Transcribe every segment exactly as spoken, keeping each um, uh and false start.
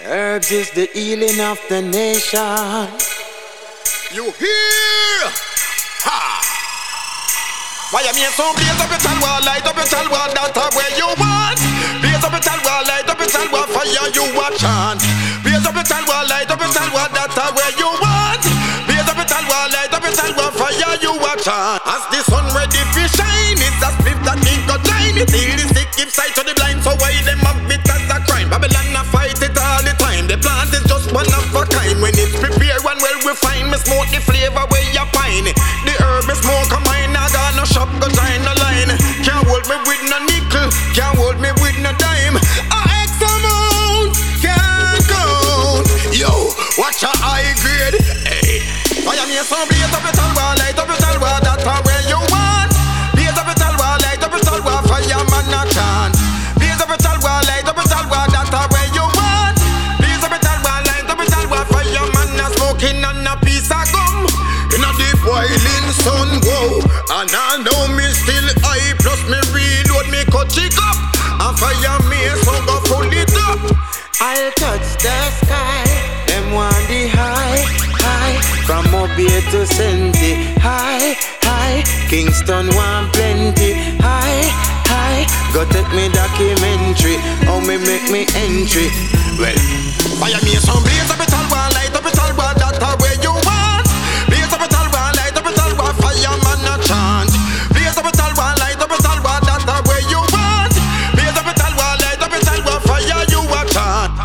Herbs is the healing of the nation. You hear? Ha! Why you mean so blaze up your chalwa, light up your chalwa, that's where you want. Blaze up your chalwa, light up your chalwa, fire you a chant. Blaze up your chalwa, light up your chalwa, that's where you want. Blaze up your chalwa, light up your chalwa, fire you a chant. As the sun ready to shine, it's a split that need to shine. It heal the sick, give sight to the blind, so why them have it as a crime? Babylon a fight it all the time. The plant is just one of a kind. When it's prepared and well refined, me smoke the flavor where you pine. The herb me smoke a mine, I got no shop, cause I ain't no line. Can't hold me with no nickel, can't hold me with no dime. A X amount, can't count. Yo, watch a high grade. Hey, I am here, so blaze up your talwa, light up your talwa, that's where you want. Blaze up your talwa, light up your talwa, fireman a chant. Blaze up your talwa, light up your talwa, that's where you want. Blaze up your talwa, light up your talwa, fireman a smoking on a piece of gum. In a deep boiling sun, whoa. And I know me still high, plus me reload, me cut it up. And fire me, so go pull it up. I'll touch the sky. Them want the high, high. From Mobile to Senti. High, high. Kingston want plenty. High, high. Go take me documentary. How me make me entry. Well, fire me some blaze up a talwa, light up a talwa, that's where you want. Blaze up a talwa, light up a talwa, fireman a chant. Blaze up a talwa, light up a talwa, that's where you want. Blaze up a talwa, light up a talwa, fire you a chant.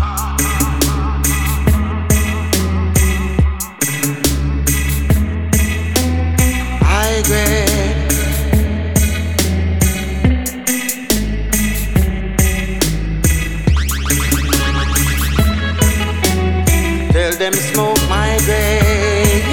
high grade. Tell them smoke my grade.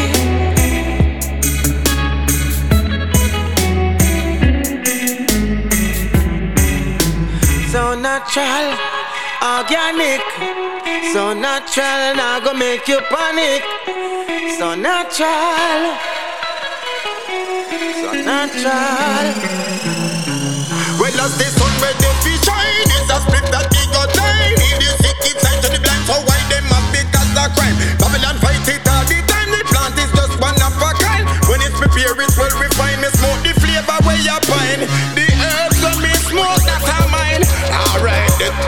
So natural, organic. So natural, now go make you panic. So natural, so natural. Well, as the sun ready to shine, it's a split that he got shine. If the sick keep sight to the blind, so why them have because of crime? Babylon fight it all the time. The plant is just one of a kind. When it's prepared, it's well refined. Me smoke the flavor where you find. The herbs when me smoke, that's how mine. Alright.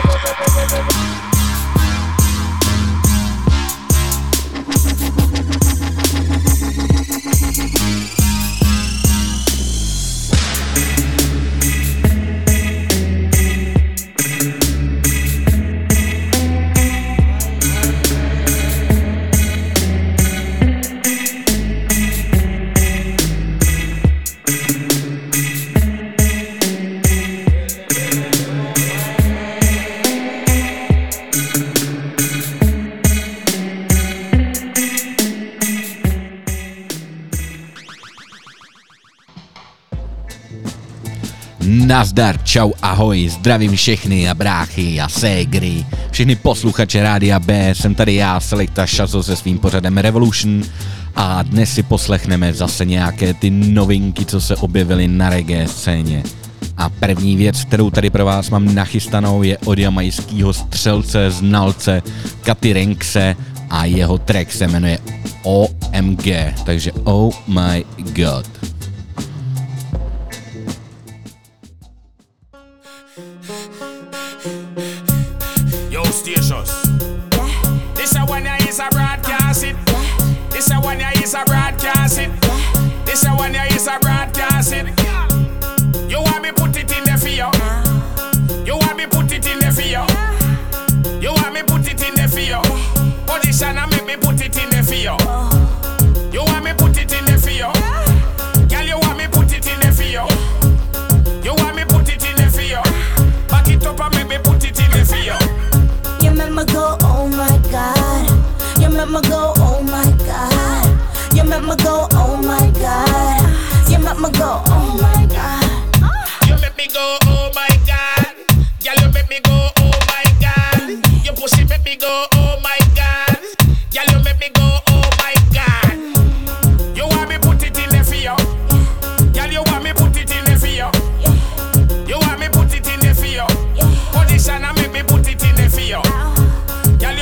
Nazdar, čau, ahoj, zdravím všechny a bráchy a ségry, všechny posluchače Rádia B, jsem tady já, Selekta Šazo se svým pořadem Revolution a dnes si poslechneme zase nějaké ty novinky, co se objevily na reggae scéně. A první věc, kterou tady pro vás mám nachystanou, je od jamajského střelce, znalce Katy Renkse a jeho track se jmenuje O M G, takže Oh My God. This a one is a broadcast it. This a one is a broadcast it. This a one is a broadcast it. You want me put it in the fio? You want me put it in the fio? You want me put it in the fio? Position and make me put it in the fio. You want me put it in the fio? Girl, you want me put it in the fio? You want me put it in the fio? Back it up and make me put it in the fio. You make me go, oh my God. You make me go, oh my God. You make me go, oh my God. You make me go, oh my God. You make me go, oh my God. Girl, you make me go, oh my God. Your pussy make me go, oh my God. Girl, you make me go, oh my God. You want me put it in the fio? Girl, you want me put it in the fio? You want me put it in the fio? Position and make me put it in the fio. Girl,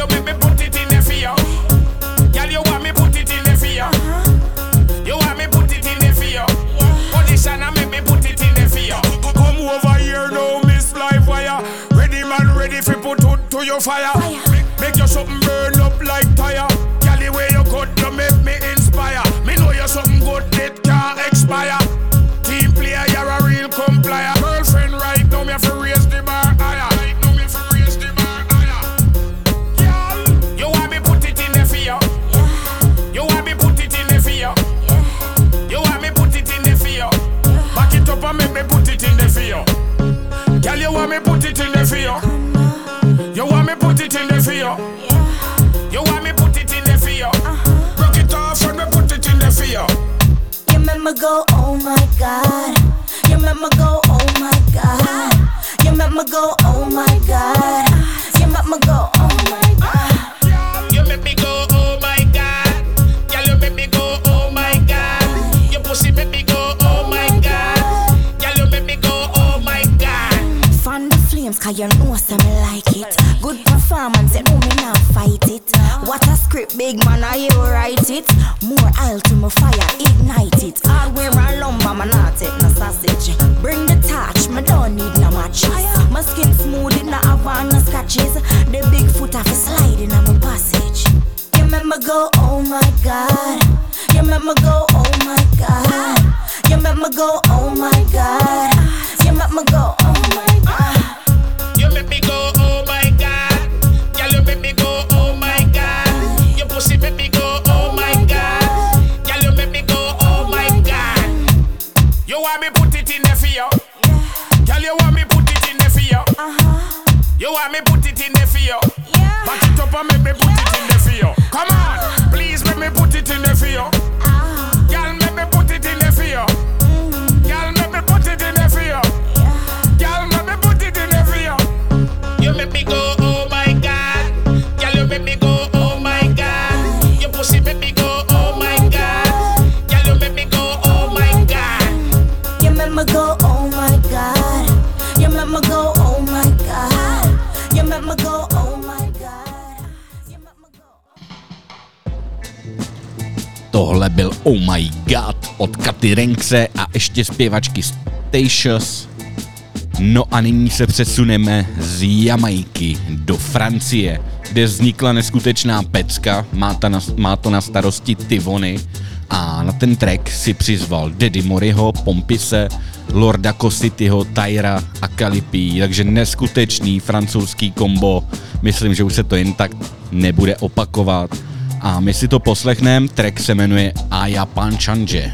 to your fire. Fire. Make, make your something burn up like tire. Girl, the way you cut, you make me inspire. Me know you're something good that can't expire. Team player, you're a real complier. Girlfriend right now, me have to raise the bar higher. Right now, me have to raise the bar higher. Girl, you want me put it in the fire. Yeah. You want me put it in the fire. Yeah. You want me put it in the fire. Yeah. Back it up and make me put it in the fire. Girl, you want me put it in the fire. You want me put it in the fire. Yeah. You want me put it in the fire. Uh-huh. Rock it off and me put it in the fire. You make me go, oh my God. You make me go, oh my God. You make me go, oh my God. You make me go, oh my God. You make me go, oh my God. Girl, you make me go, oh my God. Your pussy make me go, oh my God. Girl, you make me go, oh my God. Fan the flames, cause you know some like it. Good performance, you know me now fight it. What a script, big man, are you write it? More oil to my fire, ignite it. Hardware and lumber, man, not take no sausage. Bring the touch, me don't need no matches. My skin smooth, it not have on no scratches. The big foot have a sliding on my passage. You make me go, oh my God. You make me go, oh my God. You make me go, oh my God. You make me go, oh my God. You make me go, oh my God. Girl, you make me go, oh my God. Your pussy make me go, oh my God. Girl, you make me go, oh my God. You want me put it in the fire. Girl, you want me put it in the fire. Uh-huh. You want me put it in the fire. Yeah. Back it up and make me put it in the fire. Come on, please make me put it in the fire. Ah. Girl, make me put it in the fire. Mm. Girl, make me put it in the fire. Yeah. Girl, make me put it in the fire. You make me go, oh my God. Girl, you make me go, oh my God. Your pussy make me go, oh my God. Girl, you make me go, oh my God. You make me go, oh my God. You make me go, oh my God. You make me go, oh my God. You make me go. Tohle byl Oh My God od Katy Renkse a ještě zpěvačky Statious. No a nyní se přesuneme z Jamajky do Francie, kde vznikla neskutečná pecka, má, ta na, má to na starosti Tivony a na ten track si přizval Daddy Moriho, Pompise, Lorda Cosityho, Tyra a Calipy, takže neskutečný francouzský kombo, myslím, že už se to jen tak nebude opakovat. A my si to poslechneme, track se jmenuje Aya Panchanje.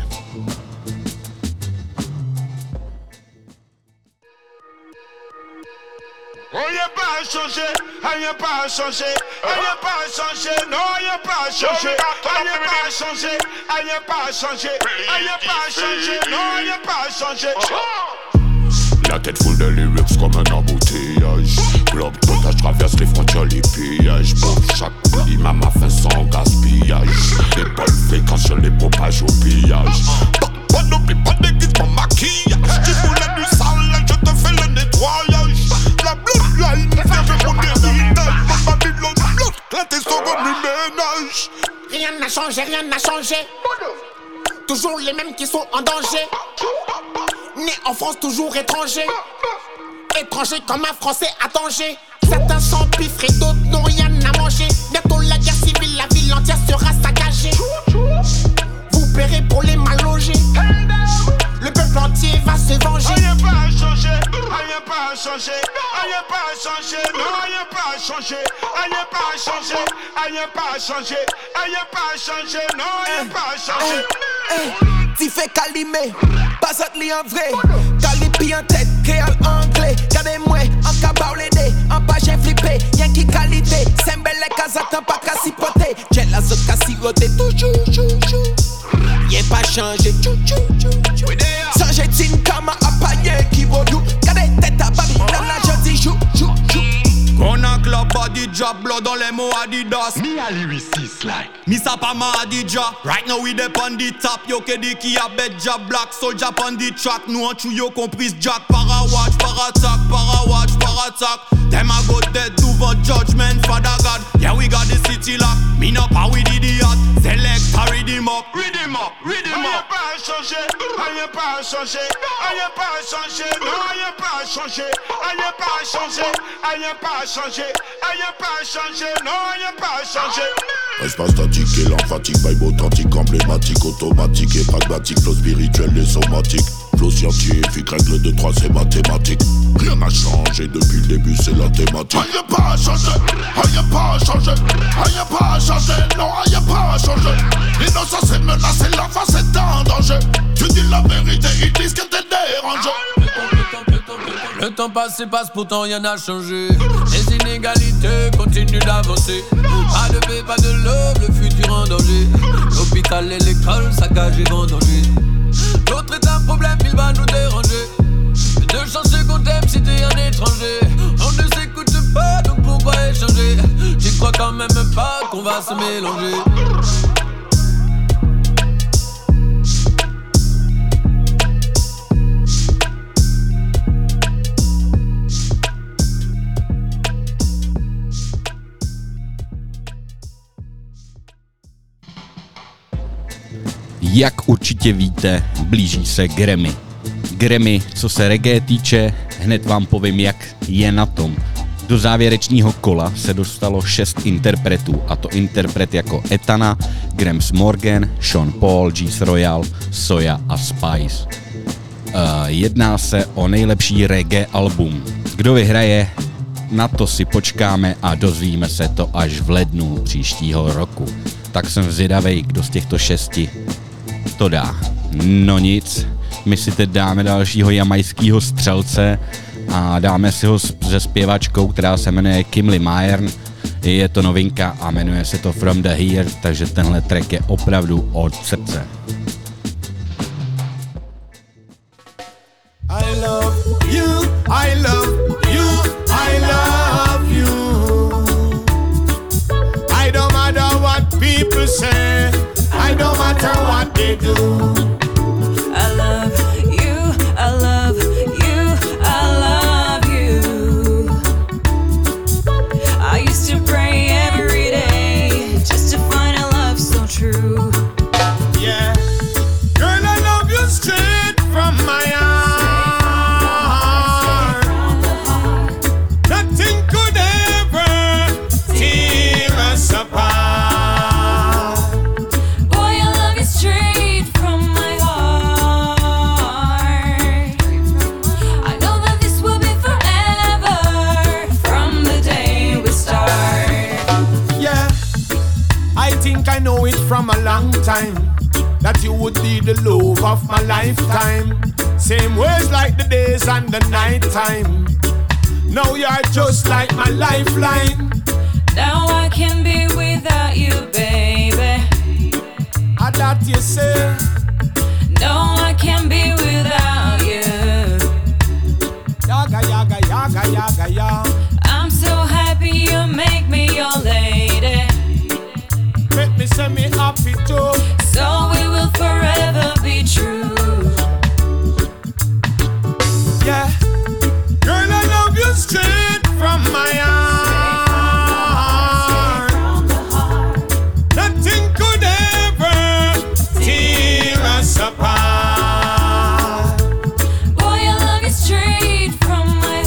On y a pas changé, on y a pas changé, on y a pas changé, non on y a pas changé, on y a pas changé, on y a pas changé, on y a pas changé, non on y a pas changé. La tête full de lyrics comme un embouteillage. Globe potage traverse les frontières, les pillages. Pour chaque pli, maman fait sans gaspillage. Les bonnes fréquences, je les propage au pillage. Pas, pas n'oublie pas d'église pour maquillage. Tu voulais du sale, je te fais le nettoyage. La bloodline, viens je mon héritage. Ma Babylone blood, là t'es sur comme le ménage. Rien n'a changé, rien n'a changé. Toujours les mêmes qui sont en danger. Né en France, toujours étranger. Étranger comme un Français à Tanger. Certains s'empiffrent et d'autres n'ont rien à manger. Bientôt la guerre civile, la ville entière sera saccagée. Vous paierez pour les mal logés. Le peuple entier va se venger. Rien pas changé, rien pas changé, rien pas changé, non rien pas changé, rien pas changé, rien pas changé, rien pas changé, non rien pas changé. T'y fais calimé, pas li en vrai. Calipi en tête, créole anglais. Gardez-moi, en cabaolédé, en page j'ai flippé. Y'en qui qualité, c'est belle casatan pas qu'à sipoter. J'ai la zone qu'à siroter, toujours, toujours. Y'en pas changé, chou chou chou chou. Changé tin kama appaillé qui vaut nous. Gardez tête à Babylone, la jeudi chou chou chou. On a club body job, blood dans les mots Adidas. Me a lyricist like Me sa pa ma Adidja. Right now we dep on the top. Yo ke di ki a bet job. Black soldier on the track. Nou an chou yo comprise jack. Para watch, para attack, para watch, para attack. Them a go dead do for judgment, Father God. Yeah, we got the city locked. Me no power with idiot. Select a read him up, read him up, read him up. Pas changé, rien pas changé, rien pas changé, non rien pas changé, rien pas changé, rien pas changé, rien pas changé, non rien pas changé. Espace statique et l'emphatique, vibe authentique, emblématique, automatique et pragmatique, flow spirituel et somatique, flow scientifique, règle de trois c'est mathématique. Rien n'a changé depuis le début, c'est la thématique. Rien pas changé, rien pas changé, rien pas changé, non rien pas changé. L'innocence est menacée, l'enfance est en danger. Tu dis la vérité, ils disent que t'es dérangé. Le temps passe et passe, pourtant rien n'a changé. Les inégalités continuent d'avancer. Pas de paix, pas de love, le futur en danger. L'hôpital et l'école saccagés en danger. L'autre est un problème, il va nous déranger. De changer qu'on t'aime si t'es un étranger. On ne s'écoute pas, donc pourquoi échanger? J'y crois quand même pas qu'on va se mélanger. Jak určitě víte, blíží se Grammy. Grammy, co se reggae týče, hned vám povím, jak je na tom. Do závěrečného kola se dostalo šest interpretů, a to interpret jako Etana, Grams Morgan, Sean Paul, Juice Royal, Soja a Spice. Uh, jedná se o nejlepší reggae album. Kdo vyhraje, na to si počkáme a dozvíme se to až v lednu příštího roku. Tak jsem zvědavej, kdo z těchto šesti to dá. No nic, my si teď dáme dalšího jamajského střelce a dáme si ho se zpěvačkou, která se jmenuje Kimli Mayern. Je to novinka a jmenuje se to From the Here, takže tenhle track je opravdu od srdce. I love you, I love you, I love you. I don't matter what people say, I don't matter what they do. I love you, I love you, I love you. I used to pray every day just to find a love so true. Yeah, girl, I love you straight from my heart. Nothing could ever tear us apart. I know it from a long time that you would be the love of my lifetime. Same words like the days and the night time. Now you're just like my lifeline. Now I can be without you, baby. I that you say. No, I can't be without you. Yaga, yaga, yaga, yaga, yaga. I'm so happy you make me your lady. Make me send me happy too. So we will forever be true. Yeah, girl, I love you straight from my heart. Nothing could ever tear us apart. Boy, I love you straight from my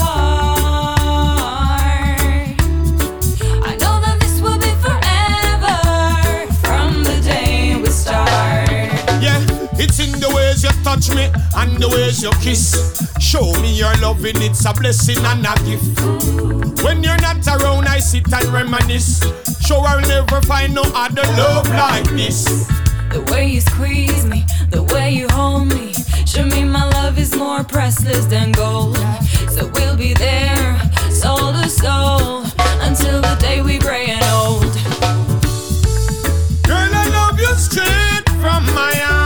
heart. I know that this will be forever from the day we start. Yeah, it's in the ways you touch me and the ways you kiss. Show me your loving, it's a blessing and a gift. When you're not around, I sit and reminisce. Sure, I'll never find no other love like this. The way you squeeze me, the way you hold me, show me my love is more priceless than gold. So we'll be there, soul to soul, until the day we gray and old. Girl, I love you straight from my heart.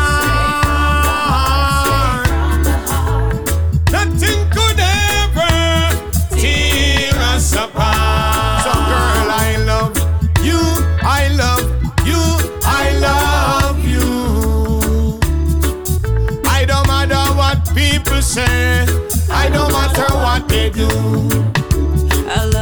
Nothing could ever tear us apart. So girl, I love you, I love you, I love you. I don't matter what people say, I don't matter what they do. I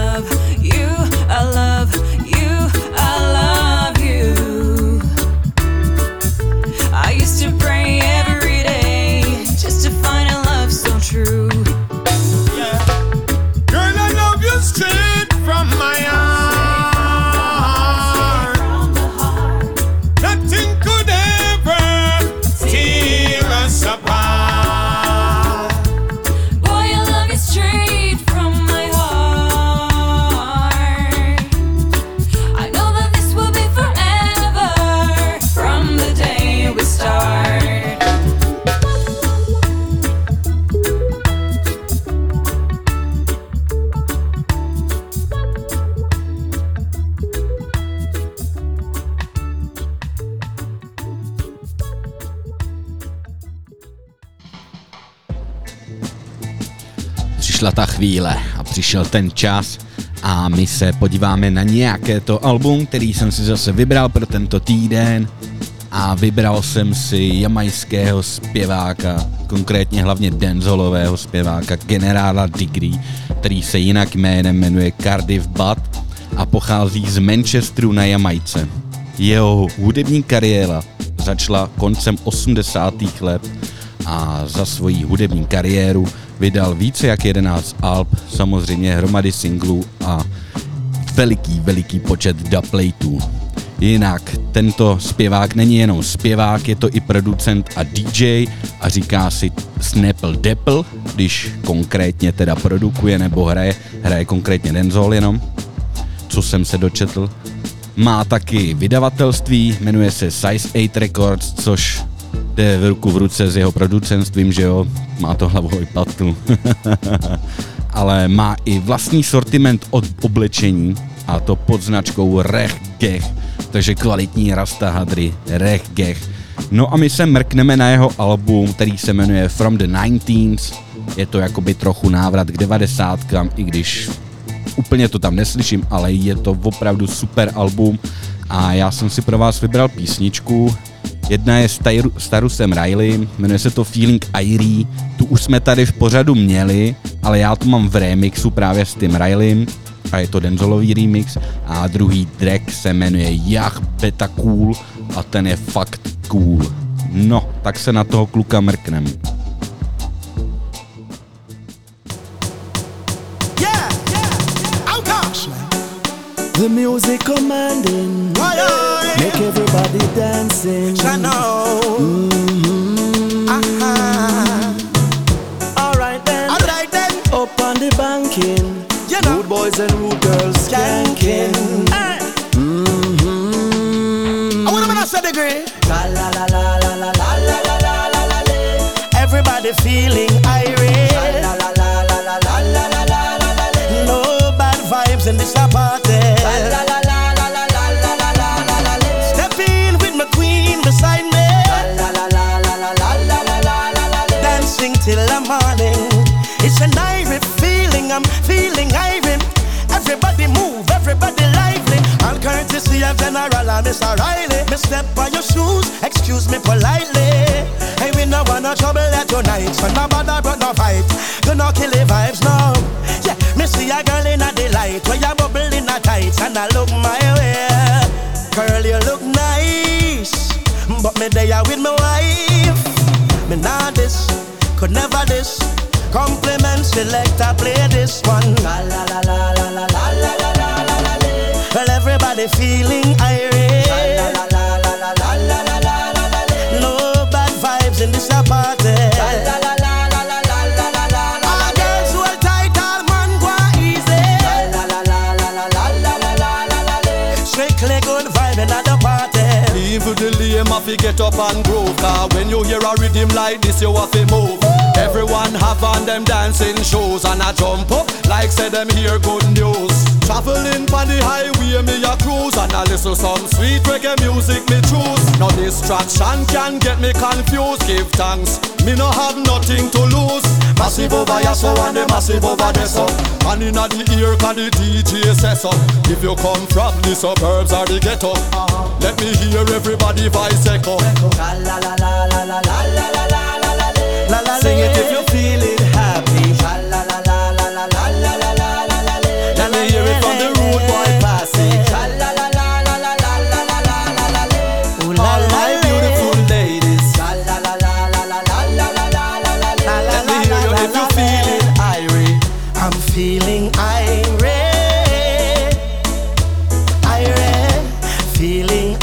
přišla ta chvíle a přišel ten čas a my se podíváme na nějaké to album, který jsem si zase vybral pro tento týden a vybral jsem si jamajského zpěváka, konkrétně hlavně dancehallového zpěváka Generála Degree, který se jinak jménem jmenuje Cardiff Bud a pochází z Manchesteru na Jamajce. Jeho hudební kariéra začala koncem osmdesátých let a za svoji hudební kariéru vydal více jak jedenáct alb, samozřejmě hromady singlů a veliký, veliký počet dubplatů. Jinak tento zpěvák není jenom zpěvák, je to i producent a D J a říká si Snapple Dapple, když konkrétně teda produkuje nebo hraje, hraje konkrétně dancehall jenom, co jsem se dočetl. Má taky vydavatelství, jmenuje se Size osm Records, což jde v ruku v ruce s jeho producentstvím, že jo, má to hlavu i patu. Ale má i vlastní sortiment od oblečení a to pod značkou Rech Gech, takže kvalitní rasta hadry, Rech Gech. No a my se mrkneme na jeho album, který se jmenuje From the Nineteens. Je to jakoby trochu návrat k devadesátkám, i když úplně to tam neslyším, ale je to opravdu super album a já jsem si pro vás vybral písničku. Jedna je s Tarusem Riley, jmenuje se to Feeling Irie, tu už jsme tady v pořadu měli, ale já to mám v remixu právě s tím Rileym a je to dancehallový remix a druhý track se jmenuje Jah Beta Cool a ten je fakt cool. No, tak se na toho kluka mrknem. The music commanding, oh, yeah. Make everybody dancing. Mm-hmm. Uh-huh. All right then, all right then. Up on the banking, you know. Rude boys and rude girls skanking. Hey. Mm-hmm. I wanna say the great. La la la la la la la la la la la. Everybody feeling irate. La la la la la la la la la la. No bad vibes in this party. Till the morning, it's an irie feeling, I'm feeling irie. Everybody move, everybody lively. All courtesy of General and Mister Riley. Me step on your shoes, excuse me politely. Hey, we no want no trouble at tonight, so no bother but no fight. You no kill the vibes now. Yeah, me see a girl in a delight, where you bubble in a tights, and I look my way. Girl, you look nice, but me there with my wife. Me not this. Could never this compliment selector play this one. La la la la la la la la la la la la. Well, everybody feeling irate. La la la la la la la la la la la. No bad vibes in this party. La la la la la la la la la la. All girls hold tight, all man go easy. La la la la la la la la la la la. Strictly good vibe in the party. Even the lame have to get up and groove, cause when you hear a rhythm like this you have to move. Everyone have on them dancing shoes and I jump up like say them hear good news. Traveling on the highway me a cruise and I listen some sweet reggae music me choose. Now distraction can get me confused. Give thanks, me no have nothing to lose. Massive over here so and the massive over there so. And inna the ear can the D J say so. If you come from the suburbs or the ghetto, let me hear everybody voice echo. La la la la la la la la la la. Sing it if you're feeling happy. La la la la la la la la la la la. Let me hear it from the rude boy passage. La la la la la la la la la la la. All my beautiful ladies. La la la la la la la la la la la. Let me hear you if you're feeling irate. I'm feeling irate, irate, feeling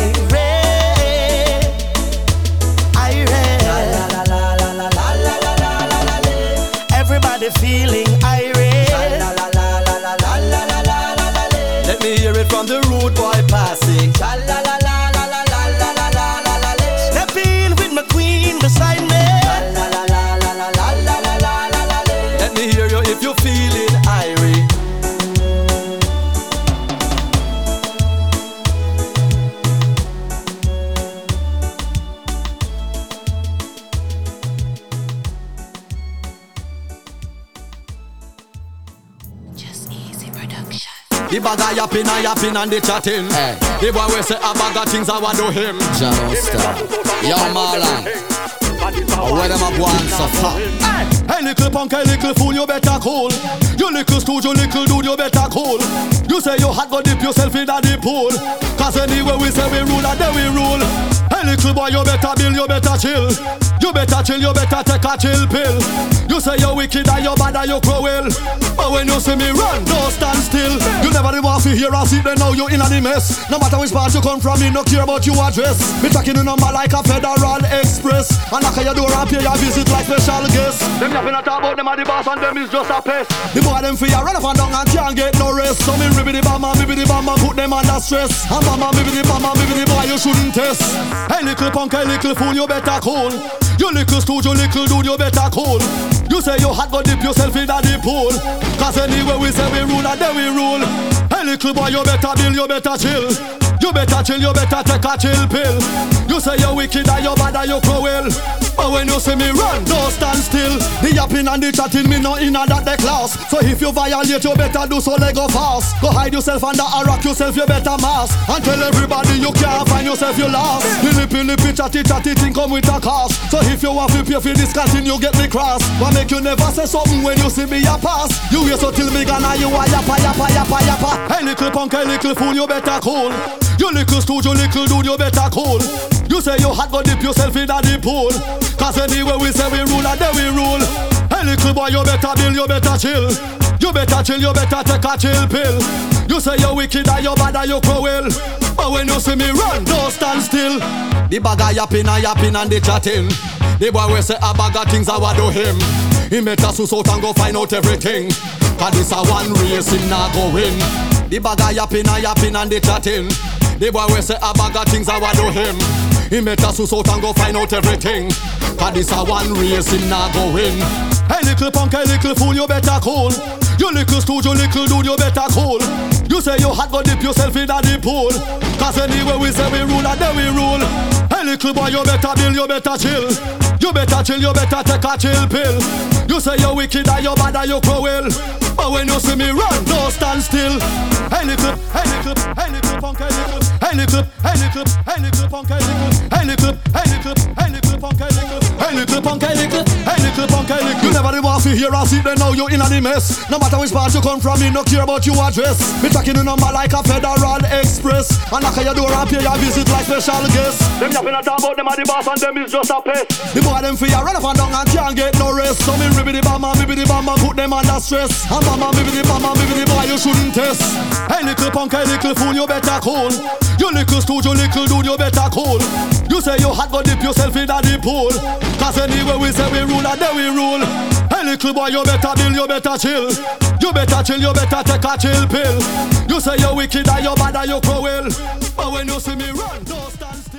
irate, irate. Everybody feeling irate. La la la la la la la la la la. Let me hear it from the rude boy passing. La la la la la la la la la la la. Step in with my queen beside me. La la la la la la la la la la la. Let me hear you if you're feeling irate. The bag a yapping and yapping and the chatting. Hey. The boy we say a bag of things I want do him. John Star, yo Marlon. Where them a go and suffer? Hey, hey little punk, hey little fool, you better cool. You little stooge, you little dude, you better cool. You say you hot, go dip yourself in the pool. Cause anyway we say we rule and then we rule. Hey little boy, you better build, you better chill. You better chill, you better take a chill pill. You say you're wicked and you're bad and you're cruel. But when you see me run, don't stand still. You never did want to hear or see, then now you in a the mess. No matter which part you come from, me no care about your address. Me tracking your number like a Federal Express. And knock on your door and pay your visit like special guests. Them yapping and talk about them are the boss and them is just a pest. The boy them fear run up and down and can't get no rest. So me ribbity bam and ribbity bam and put them under stress. And bam and ribbity bam and ribbity boy you shouldn't test. Hey little punk, hey little fool, you better cool. You little stooge, you little dude, you better cool. You say you hot, go dip yourself in the pool. Cause anyway we say we rule and then we rule. Hey little boy, you better build, you better chill. You better chill, you better take a chill pill. You say you're wicked and you're bad and you're cruel. But when you see me run, don't stand still. The yapping and the chatting, me no in that the class. So if you violate, you better do so let go fast. Go hide yourself under a rock, yourself you better mask. And tell everybody you can't find yourself, you lost. The lippy lippy chatty chatty thing come with a cost. So if you want to pay for this canteen, you get me cross. But make you never say something when you see me a pass. You wait so till me gonna you a yappa yappa yappa yappa. Hey little punk, hey little fool, you better cool. You little stooge, you little dude, you better cool. You say you hot, go dip yourself in the pool. Cause anyway we say we rule and then we rule. Hey little boy, you better build, you better chill. You better chill, you better take a chill pill. You say you're wicked and you're bad and you're cruel. But when you see me run, don't stand still. The bag a yapping and yapping and the chatting. The boy we say a bag of things I want do him. He better suss out and go find out everything. Cause this a one race him not go win. The bag a yapping and yapping and the chatting. The boy we say a bag of things I want do him. He better suss out and go find out everything. Cause this a one race him not go win. Hey little punk, hey little fool, you better cool. You little stooge, you little dude, you better cool. You say you hot, go dip yourself in the pool. Cause anyway we say we rule and then we rule. Hey little boy, you better build, you better chill. You better chill, you better take a chill pill. You say you're wicked and you're bad and you're cruel. But when you see me run, don't stand still. Hey little, hey little, hey little punk, hey little, hey little, hey little, hey little punk, hey little, hey little, hey little, hey little punk, hey little, hey little punk, hey little, hey little punk, hey little. You never did want to hear or see, then now you in a the mess. No matter which part you come from, me no care about your address. Me tracking your number like a Federal Express. And knock on your door and pay your visit like special guests. Them yapping and talk about them are the boss and them is just a pest. The boy them fear run up and down and can't get no rest. So me ribbity bam and ribbity bam and put them under stress. And bam and ribbity bam and ribbity boy you shouldn't test. Hey little punk, hey little fool, you better cool. You little stooge, you little dude, you better cool. You say you hot, go dip yourself in the pool. Cause anyway we say we rule and then we rule. Hey little boy, you better build, you better chill. You better chill, you better take a chill pill. You say you're wicked and you're bad and you're cruel. But when you see me run, don't stand still.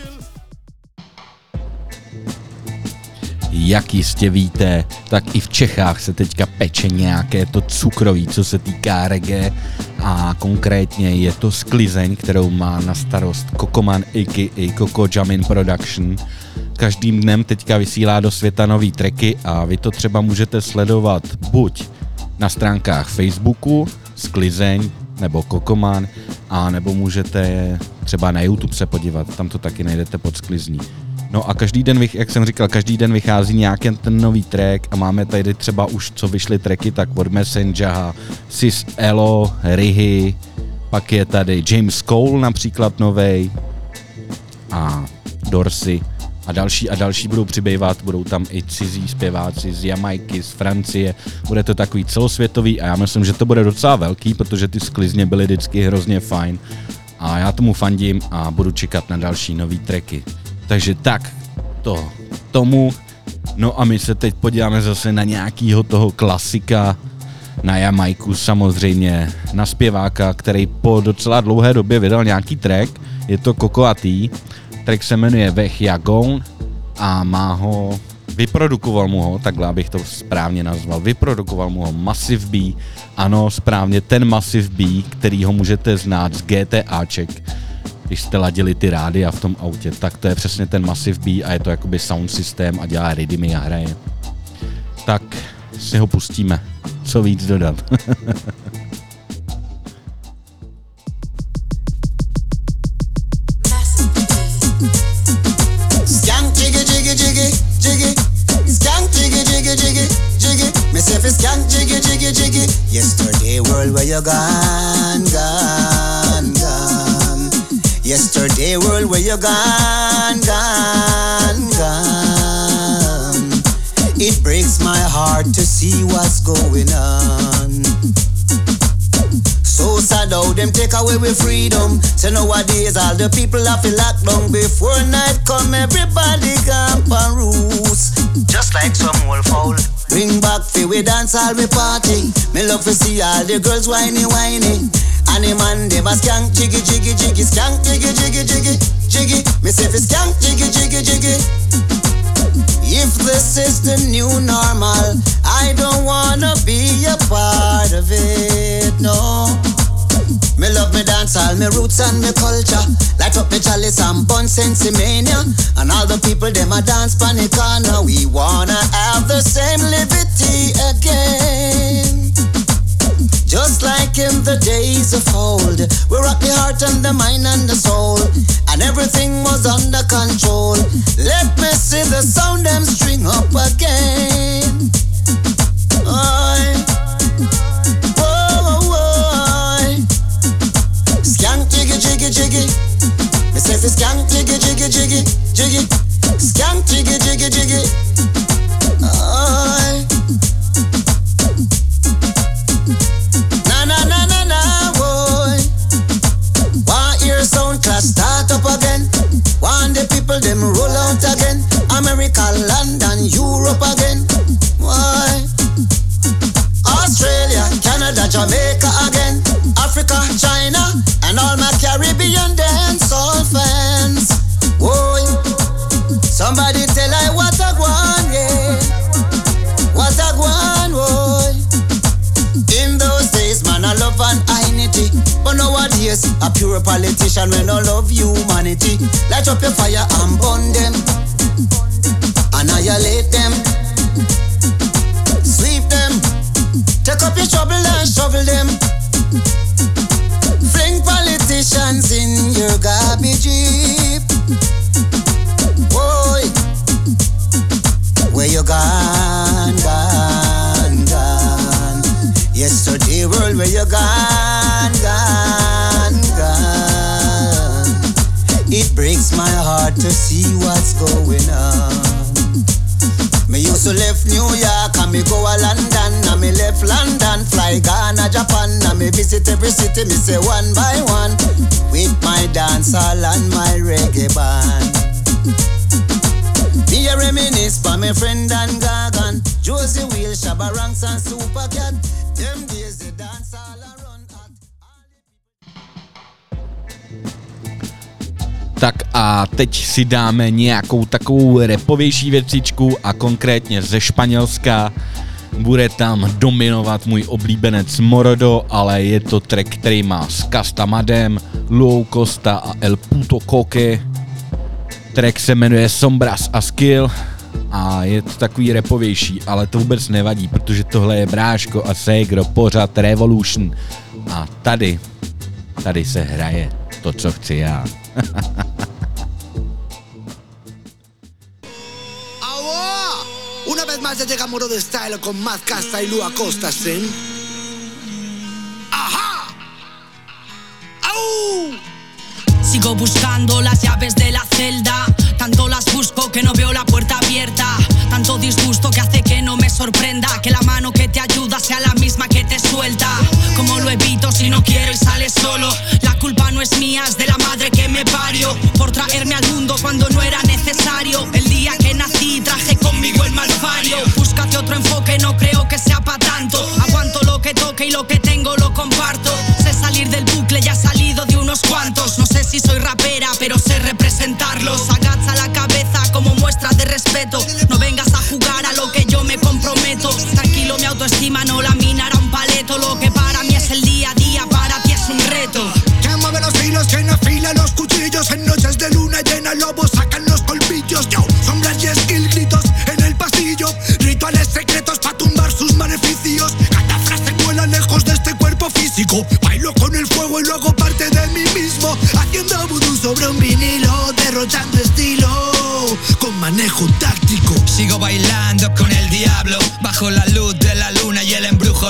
Jak jistě víte, tak i v Čechách se teďka peče nějaké to cukroví, co se týká reggae, a konkrétně je to sklizeň, kterou má na starost Kokoman a k a. Coco Jamin Production. Každým dnem teďka vysílá do světa nový tracky a vy to třeba můžete sledovat buď na stránkách Facebooku Sklizeň nebo Kokoman, a nebo můžete třeba na YouTube se podívat, tam to taky najdete pod Sklizní. No a každý den, jak jsem říkal, každý den vychází nějaký ten nový track a máme tady třeba už, co vyšly tracky, tak od Messengera, Sis Elo, Rihy, pak je tady James Cole například novej a Dorsey a další a další budou přibývat, budou tam i cizí zpěváci z Jamajky, z Francie, bude to takový celosvětový a já myslím, že to bude docela velký, protože ty sklizně byly vždycky hrozně fajn a já tomu fandím a budu čekat na další nový tracky. Takže tak, to tomu, no a my se teď podíváme zase na nějakýho toho klasika, na Jamajku samozřejmě, na zpěváka, který po docela dlouhé době vydal nějaký track, je to Coco a T, track se jmenuje Vech Jagon a má ho, vyprodukoval mu ho, takhle abych to správně nazval, vyprodukoval mu ho Massive B, ano správně ten Massive B, který ho můžete znát z GTAček, když jste ladili ty rádia v tom autě, tak to je přesně ten Massive B a je to jakoby sound systém a dělá rytmy a hraje. Tak si ho pustíme. Co víc dodat? say fi skank jiggy jiggy jiggy. Yesterday world where you gone, gone, gone. Yesterday world where you gone, gone, gone. It breaks my heart to see what's going on. So sad how them take away with freedom. So nowadays all the people have to lock down. Before night come everybody camp and roost. Just like some old foul. Bring back fi we dance all we party. Me love to see all the girls whiny whiny. And the man dem a skank jiggy jiggy jiggy. Skank jiggy jiggy jiggy jiggy. Me say fi skank jiggy jiggy jiggy. If this is the new normal, I don't wanna be a part of it, no. Me love me dance, all me roots and me culture. Light up me chalice and bun sensi mania. And all the people them a dance panic corner. We wanna have the same liberty again. Just like in the days of old, we rock the heart and the mind and the soul, and everything was under control. Let me see the sound them string up again. Oi. Oh, oi. Skank jiggy jiggy jiggy. Me say fi skank jiggy jiggy jiggy jiggy. Skank jiggy jiggy jiggy. Oi. Sound class start up again. Want the people them roll out again. America, London, Europe again. Why? Australia, Canada, Jamaica again. Africa, China, and all my Caribbean dancehall fans. Whoa. Somebody tell I what I want, yeah. What I want, whoa. In those days, man, I love and unity. But nowadays, a pure politician when no love humanity. Light up your fire and burn them. Annihilate them. Sweep them. Take up your shovel and shovel them. Fling politicians in your garbage heap. Boy, where you gone, gone, gone. Yesterday world where you gone, gone, gone. It breaks my heart to see what's going on. Me used to left New York and me go a London. And me left London, fly Ghana, Japan. And me visit every city, me say one by one. With my dancehall and my reggae band. Me a reminisce for my friend and Gagan. Josie Wheel, Shabba Ranks and Supercat. Them days the dancehall around at. Tak a teď si dáme nějakou takovou rapovější věcičku a konkrétně ze Španělska. Bude tam dominovat můj oblíbenec Morodo, ale je to track, který má s Castamadem, Lou Costa a El Puto Coque. Track se jmenuje Sombras a Skill a je to takový rapovější, ale to vůbec nevadí, protože tohle je Bráško a Segro, pořad Revolution a tady, tady se hraje to, co chci já. Una vez más ya llega Morodo Style con más Casta y Lua Costa, ¿sí? ¡Ajá! ¡Au! Sigo buscando las llaves de la celda. Tanto las busco que no veo la puerta abierta. Tanto disgusto que hace que no me sorprenda que la mano que te ayuda sea la misma que te suelta. ¿Cómo lo evito si no quiero y sale solo? La culpa no es mía, es de la madre que me parió por traerme al mundo cuando no era necesario. El día que nací traje conmigo el malfario. Búscate otro enfoque, no creo que sea pa' tanto. Aguanto lo que toque y lo que tengo lo comparto. Sé salir del bucle, ya he salido de unos cuantos. No sé si soy rapera, pero sé representarlos. Agacha la cabeza como muestra de respeto. No vengas a jugar a lo que yo me comprometo. Tranquilo, mi autoestima no la minará un paleto. Lo que para mí es el día a día, para ti es un reto. Que mueve los hilos, que no afila los cuchillos. En noches de luna llena, lobos sacan los colmillos. Yo, sombras y skill, gritos en el pasillo. Rituales secretos para tumbar sus maleficios. Cada frase vuela lejos de este cuerpo físico. Bailo con el fuego y luego parte de mí mismo. Haciendo vudú sobre un vinilo, derrochando estilo con manejo táctico. Sigo bailando con el diablo bajo la luz de la luna.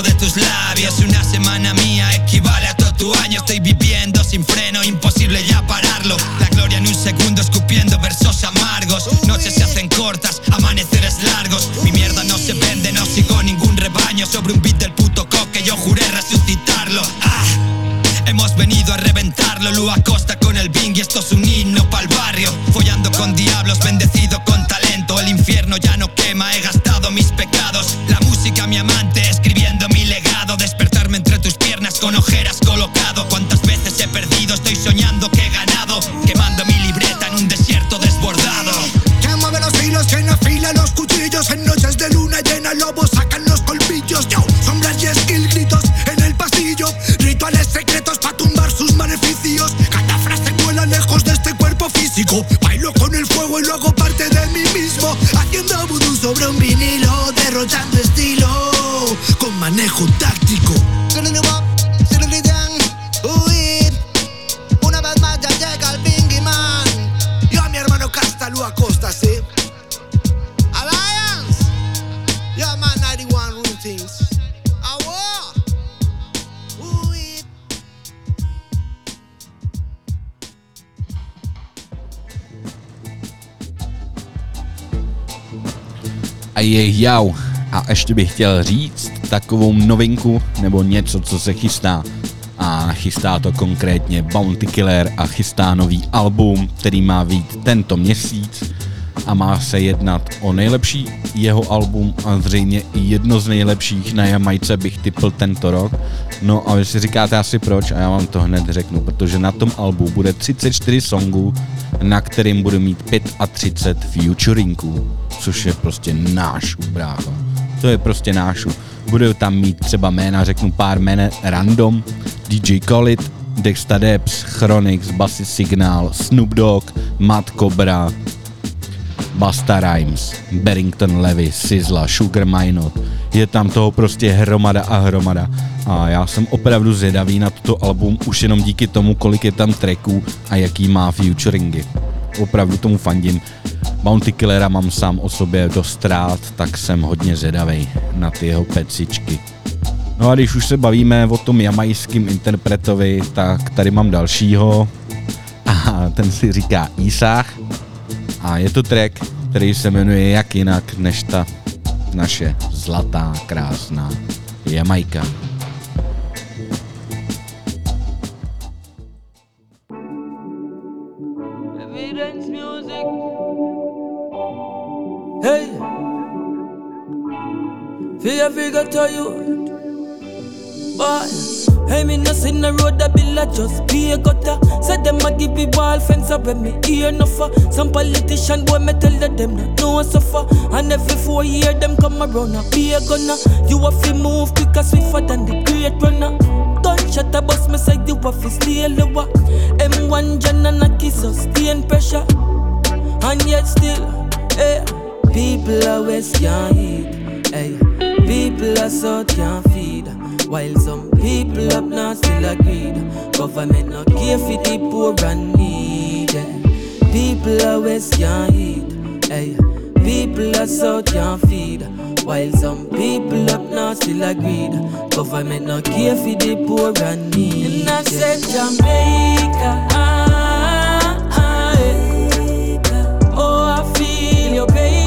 de tus labios. Una semana mía equivale a todo tu año. Estoy viviendo sin freno, imposible ya pararlo. La gloria en un segundo escupiendo versos amargos. Noches se hacen cortas, amaneceres largos. Mi mierda no se vende, no sigo ningún rebaño. Sobre un beat del puto coque yo juré resucitarlo. Ah, hemos venido a reventarlo. Lu Acosta con el Bing y esto es un himno pa'l barrio. Follando con diablos, bendecido con talento. El infierno ya no quema, he gastado mis pecados. La música mi amante, escribiendo mi legado. Despertarme entre tus piernas con ojeras colocado. Cuántas veces he perdido, estoy soñando que he ganado. Quemando mi libreta en un desierto desbordado. Que mueve los hilos, que afila los cuchillos. En noches de luna llena lobos sacan los colmillos. Yo, sombras y skill, gritos en el pasillo. Rituales secretos pa' tumbar sus maleficios. Cada frase vuela lejos de este cuerpo físico. Bailo con el fuego y luego parte de mí mismo. Haciendo vudú sobre un vinilo. Derrochando estilo con manejo táctico. Una vez más ya llega el Bingy Man. Yo a mi hermano Casta Lu Acosta, ¿sí? Alliance. Yeah man, ninety one routines. Awa. Uy. A je jau. A ještě bych chtěl říct takovou novinku nebo něco, co se chystá. A chystá to konkrétně Bounty Killer a chystá nový album, který má vyjít tento měsíc a má se jednat o nejlepší jeho album a zřejmě i jedno z nejlepších na Jamajce bych tipl tento rok. No a vy si říkáte asi proč a já vám to hned řeknu, protože na tom albu bude třicet čtyři songů, na kterým bude mít třicet pět featuringů, což je prostě náš brácho. To je prostě nášu. Bude tam mít třeba jména, řeknu pár jmen random, D J Khaled, Dexta Debs, Chronix, Bassy Signal, Snoop Dogg, Matt Cobra, Busta Rhymes, Barrington Levy, Sizzla, Sugar Minot. Je tam toho prostě hromada a hromada. A já jsem opravdu zvědavý na toto album už jenom díky tomu, kolik je tam tracků a jaký má featuringy. Opravdu tomu fandím. Bounty Killera mám sám o sobě dost rád, tak jsem hodně zvědavej na ty jeho pecičky. No a když už se bavíme o tom jamajským interpretovi, tak tady mám dalšího a ten si říká Isaac a je to track, který se jmenuje jak jinak než ta naše zlatá, krásná Jamajka. Hey, fear figure to you, boy. Hey, me no see the road that bill a just be a gutter. Said them a give me wall fence up when me hear no for. Some politician boy me tell that them not know suffer. And every four year them come around a be a gunner. You have to move quicker swifter than the great runner. Gunshot a bust me side you have to stay lower. M one John and a kiss us staying pressure. And yet still, hey. People are west can't eat, hey. People are south can't feed. While some people up north still agreed. Government not care for the poor and needy. People are west can't eat, hey. People are south can't feed. While some people up north still agreed. Government not care for the poor and needy. And I said Jamaica, ah, ah, hey. Oh I feel your pain.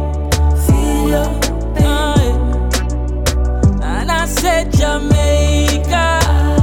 And I said Jamaica,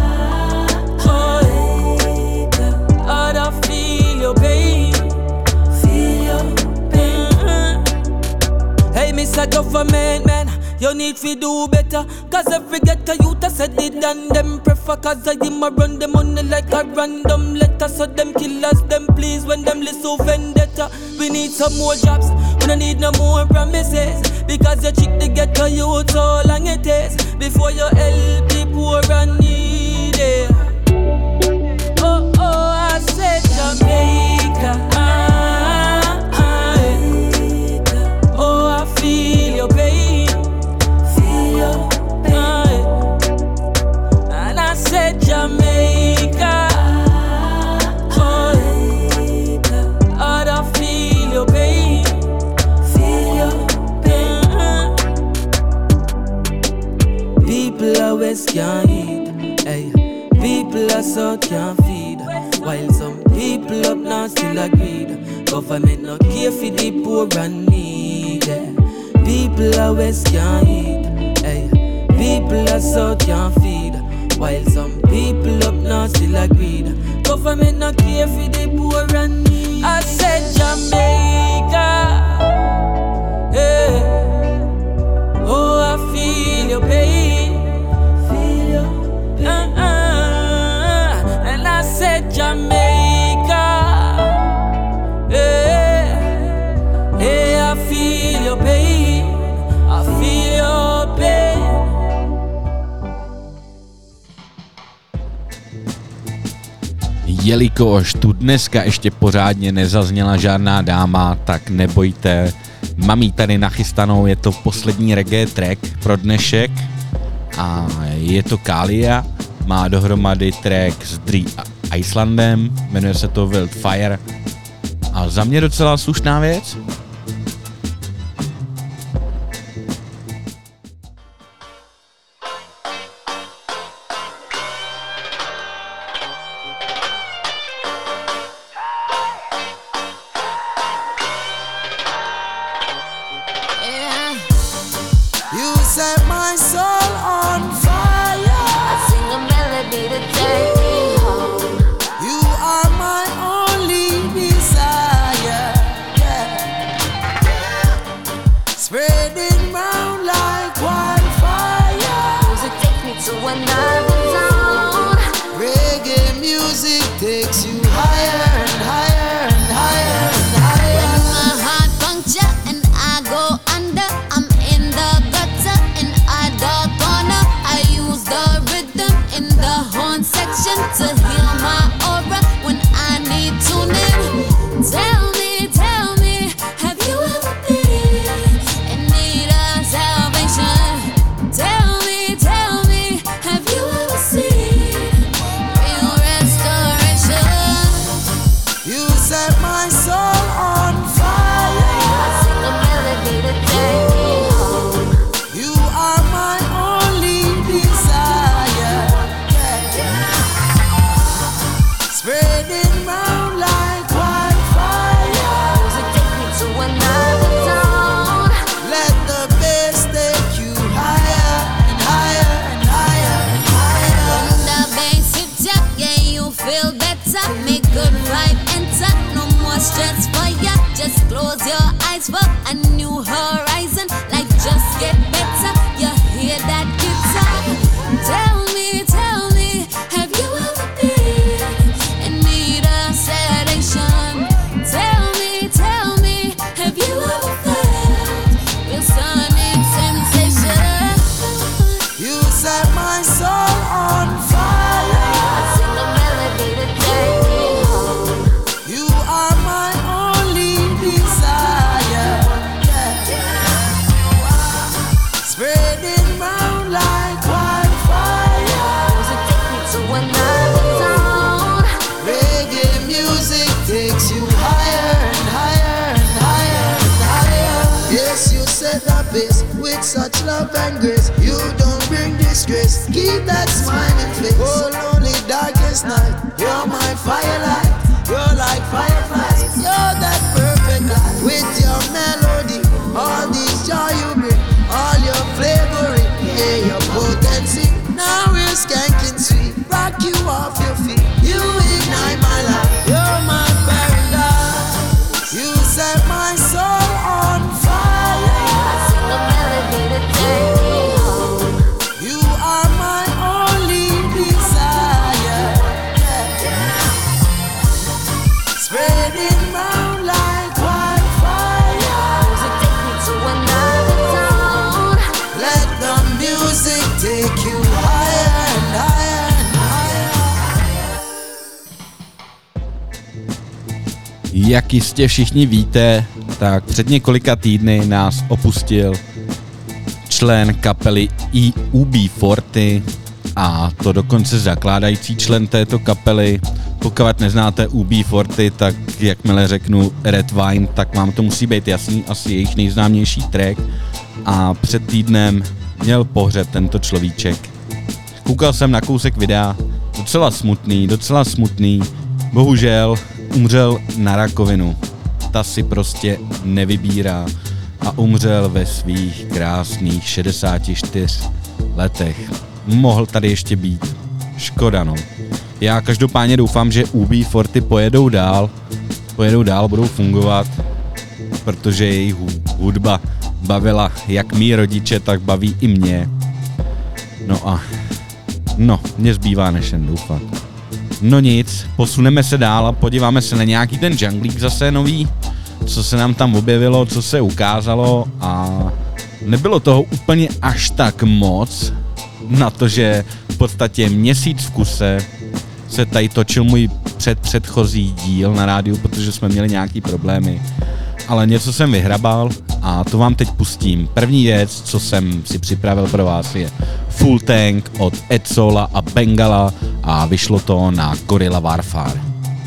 oh, I don't feel your pain, feel your pain. Hey, Mister Government, man, you need to do better. Cause every ghetto youth I said it and them prefer. Cause I him a run the money like a random letter. So them killers, them please when them listen vendetta. We need some more jobs, we don't need no more promises. Because you trick the ghetto youth so long it is before you help the poor and needy. Oh, oh, I said Jamaica, ah, ah, eh. Oh, I feel your pain, feel your pain, ah, and I said Jamaica, oh, I don't feel your pain, feel your pain. People are west can't eat. Hey, people are south can't feed. While some people up north still agreed. Government not care for the poor and needy. People are west can't eat. Hey, people are south can't feed. While some people up north still agreed. Government not care for the poor and needy. I said Jamaica. Hey. Oh, I feel your pain. Feel your pain. Uh-uh. And I said Jamaica. Hey, hey, I feel your pain. I feel your pain. Jelikož tu dneska ještě pořádně nezazněla žádná dáma, tak nebojte, mám jí tady nachystanou, je to poslední reggae track pro dnešek a je to Kalia, má dohromady track s Dre Icelandem, jmenuje se to Wildfire a za mě docela slušná věc. Jak jistě všichni víte, tak před několika týdny nás opustil člen kapely E U B čtyřicet a to dokonce zakládající člen této kapely. Pokud neznáte U B čtyřicet, tak jakmile řeknu Red Wine, tak vám to musí být jasný, asi jejich nejznámější track. A před týdnem měl pohřeb tento človíček. Koukal jsem na kousek videa, docela smutný, docela smutný, bohužel umřel na rakovinu. Ta si prostě nevybírá a umřel ve svých krásných šedesáti čtyřech letech. Mohl tady ještě být. Škoda, no. Já každopádně doufám, že U B čtyřicet pojedou dál, pojedou dál, budou fungovat, protože jejich hudba bavila jak mý rodiče, tak baví i mě. No a no, mě zbývá než jen doufat. No nic, posuneme se dál a podíváme se na nějaký ten junglík zase nový, co se nám tam objevilo, co se ukázalo a nebylo toho úplně až tak moc, na to, že v podstatě měsíc v kuse se tady točil můj předpředchozí díl na rádiu, protože jsme měli nějaký problémy. Ale něco jsem vyhrabal a to vám teď pustím. První věc, co jsem si připravil pro vás, je Full Tank od Edsola a Bengala a vyšlo to na Gorilla Warfare.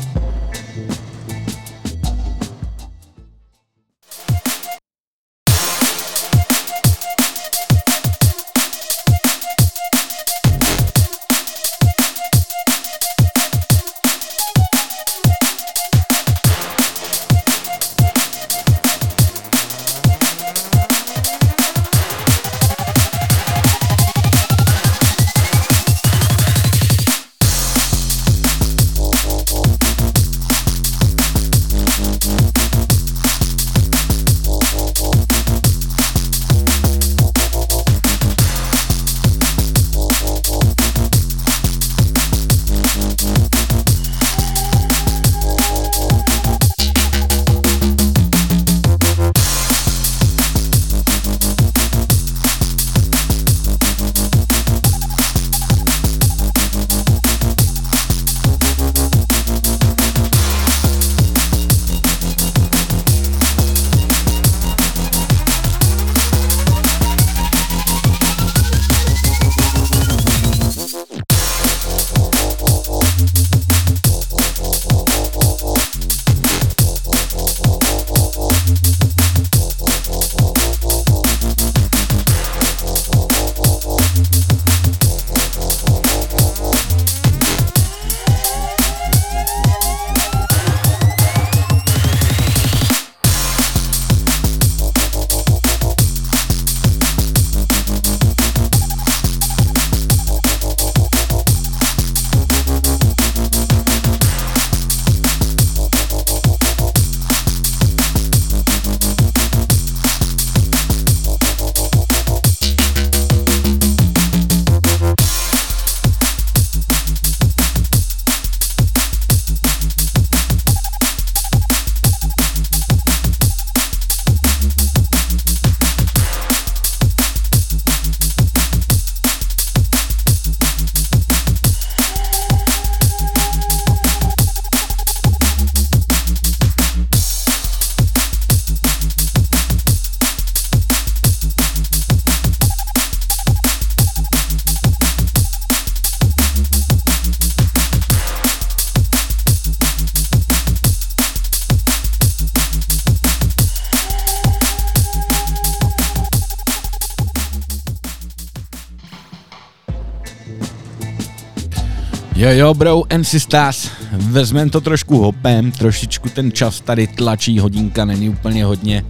Jo jo bro and sisters, vezmem to trošku hopem, trošičku ten čas tady tlačí, hodinka není úplně hodně.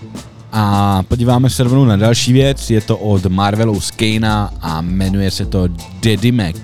A podíváme se rovnou na další věc, je to od Marvelu Skejna a jmenuje se to Daddy Mac.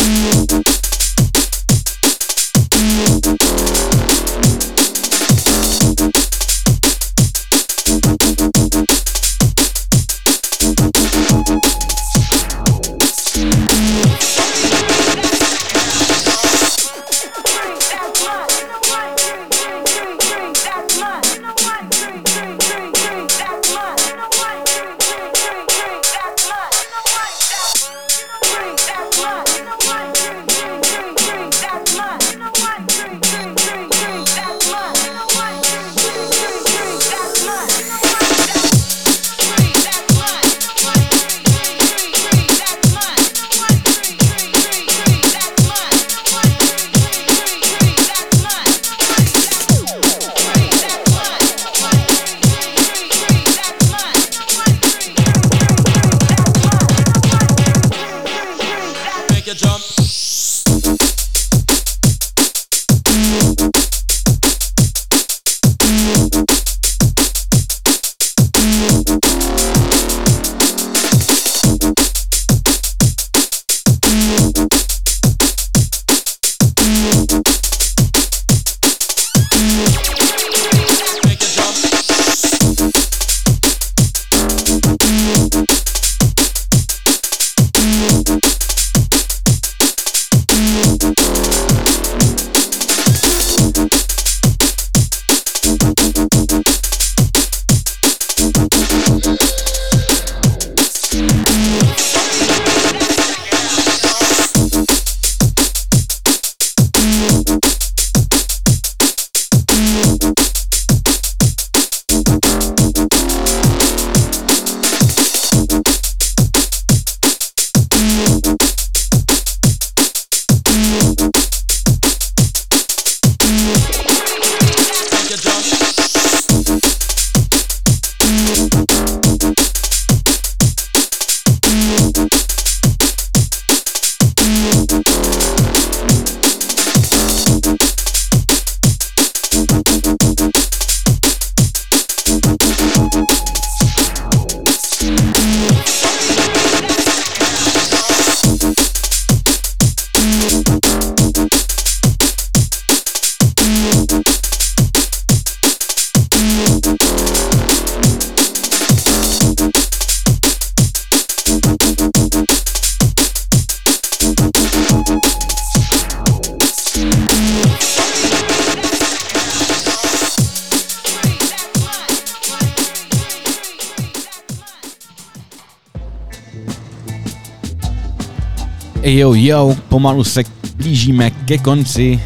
Jo, jo, pomalu se blížíme ke konci,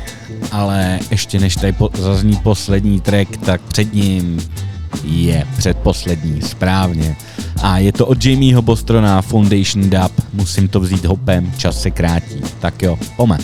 ale ještě než tady po- zazní poslední track, tak před ním je předposlední, správně. A je to od Jamieho Bostrona, Foundation Dub, musím to vzít hopem, čas se krátí. Tak jo, pome.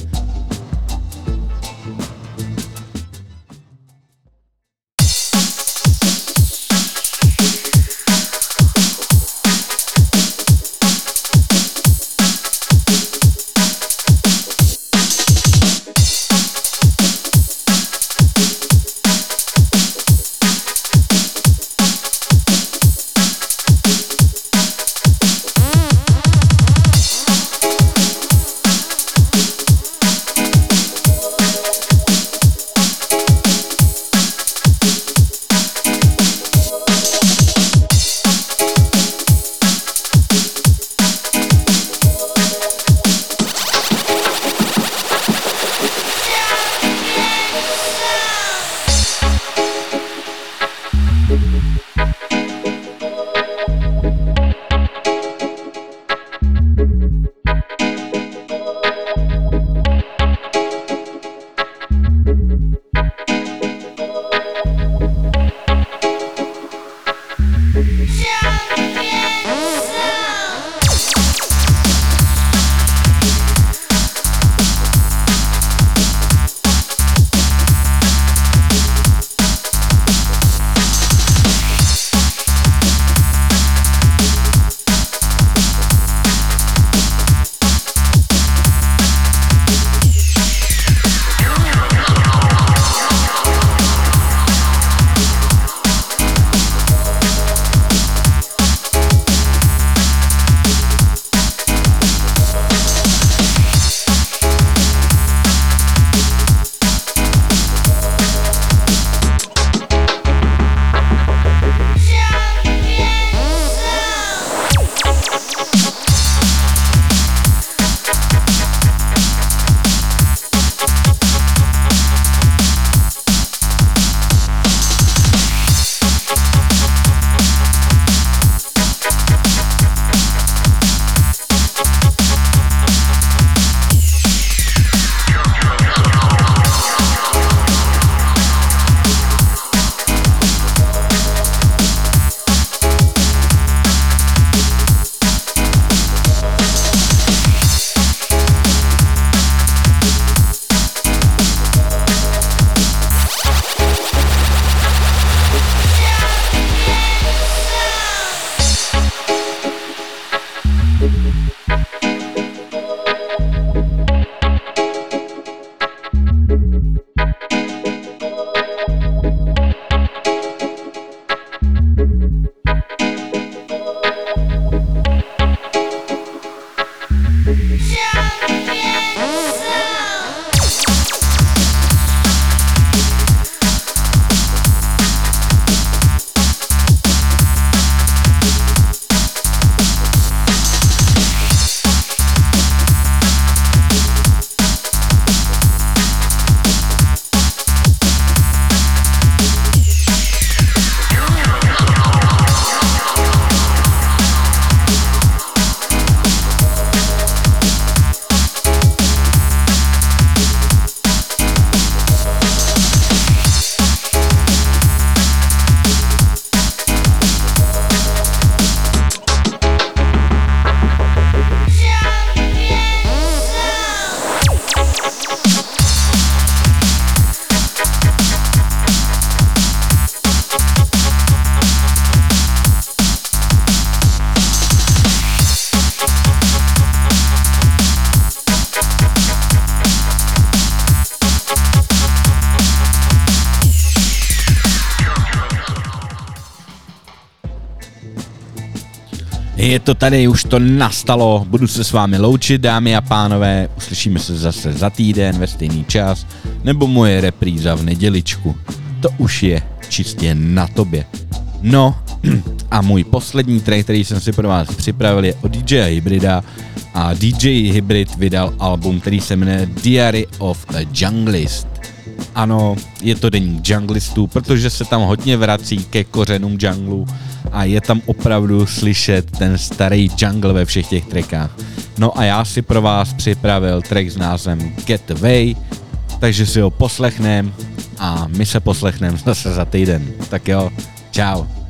Je to tady, už to nastalo, budu se s vámi loučit, dámy a pánové, uslyšíme se zase za týden ve stejný čas, nebo moje repríza v neděličku. To už je čistě na tobě. No a můj poslední track, který jsem si pro vás připravil, je od D J Hybrida a D J Hybrid vydal album, který se jmenuje Diary of a Junglist. Ano, je to deník junglistů, protože se tam hodně vrací ke kořenům junglu a je tam opravdu slyšet ten starý jungle ve všech těch trackách. No a já si pro vás připravil track s názvem Get Away, takže si ho poslechnem a my se poslechneme zase za týden. Tak jo, čau.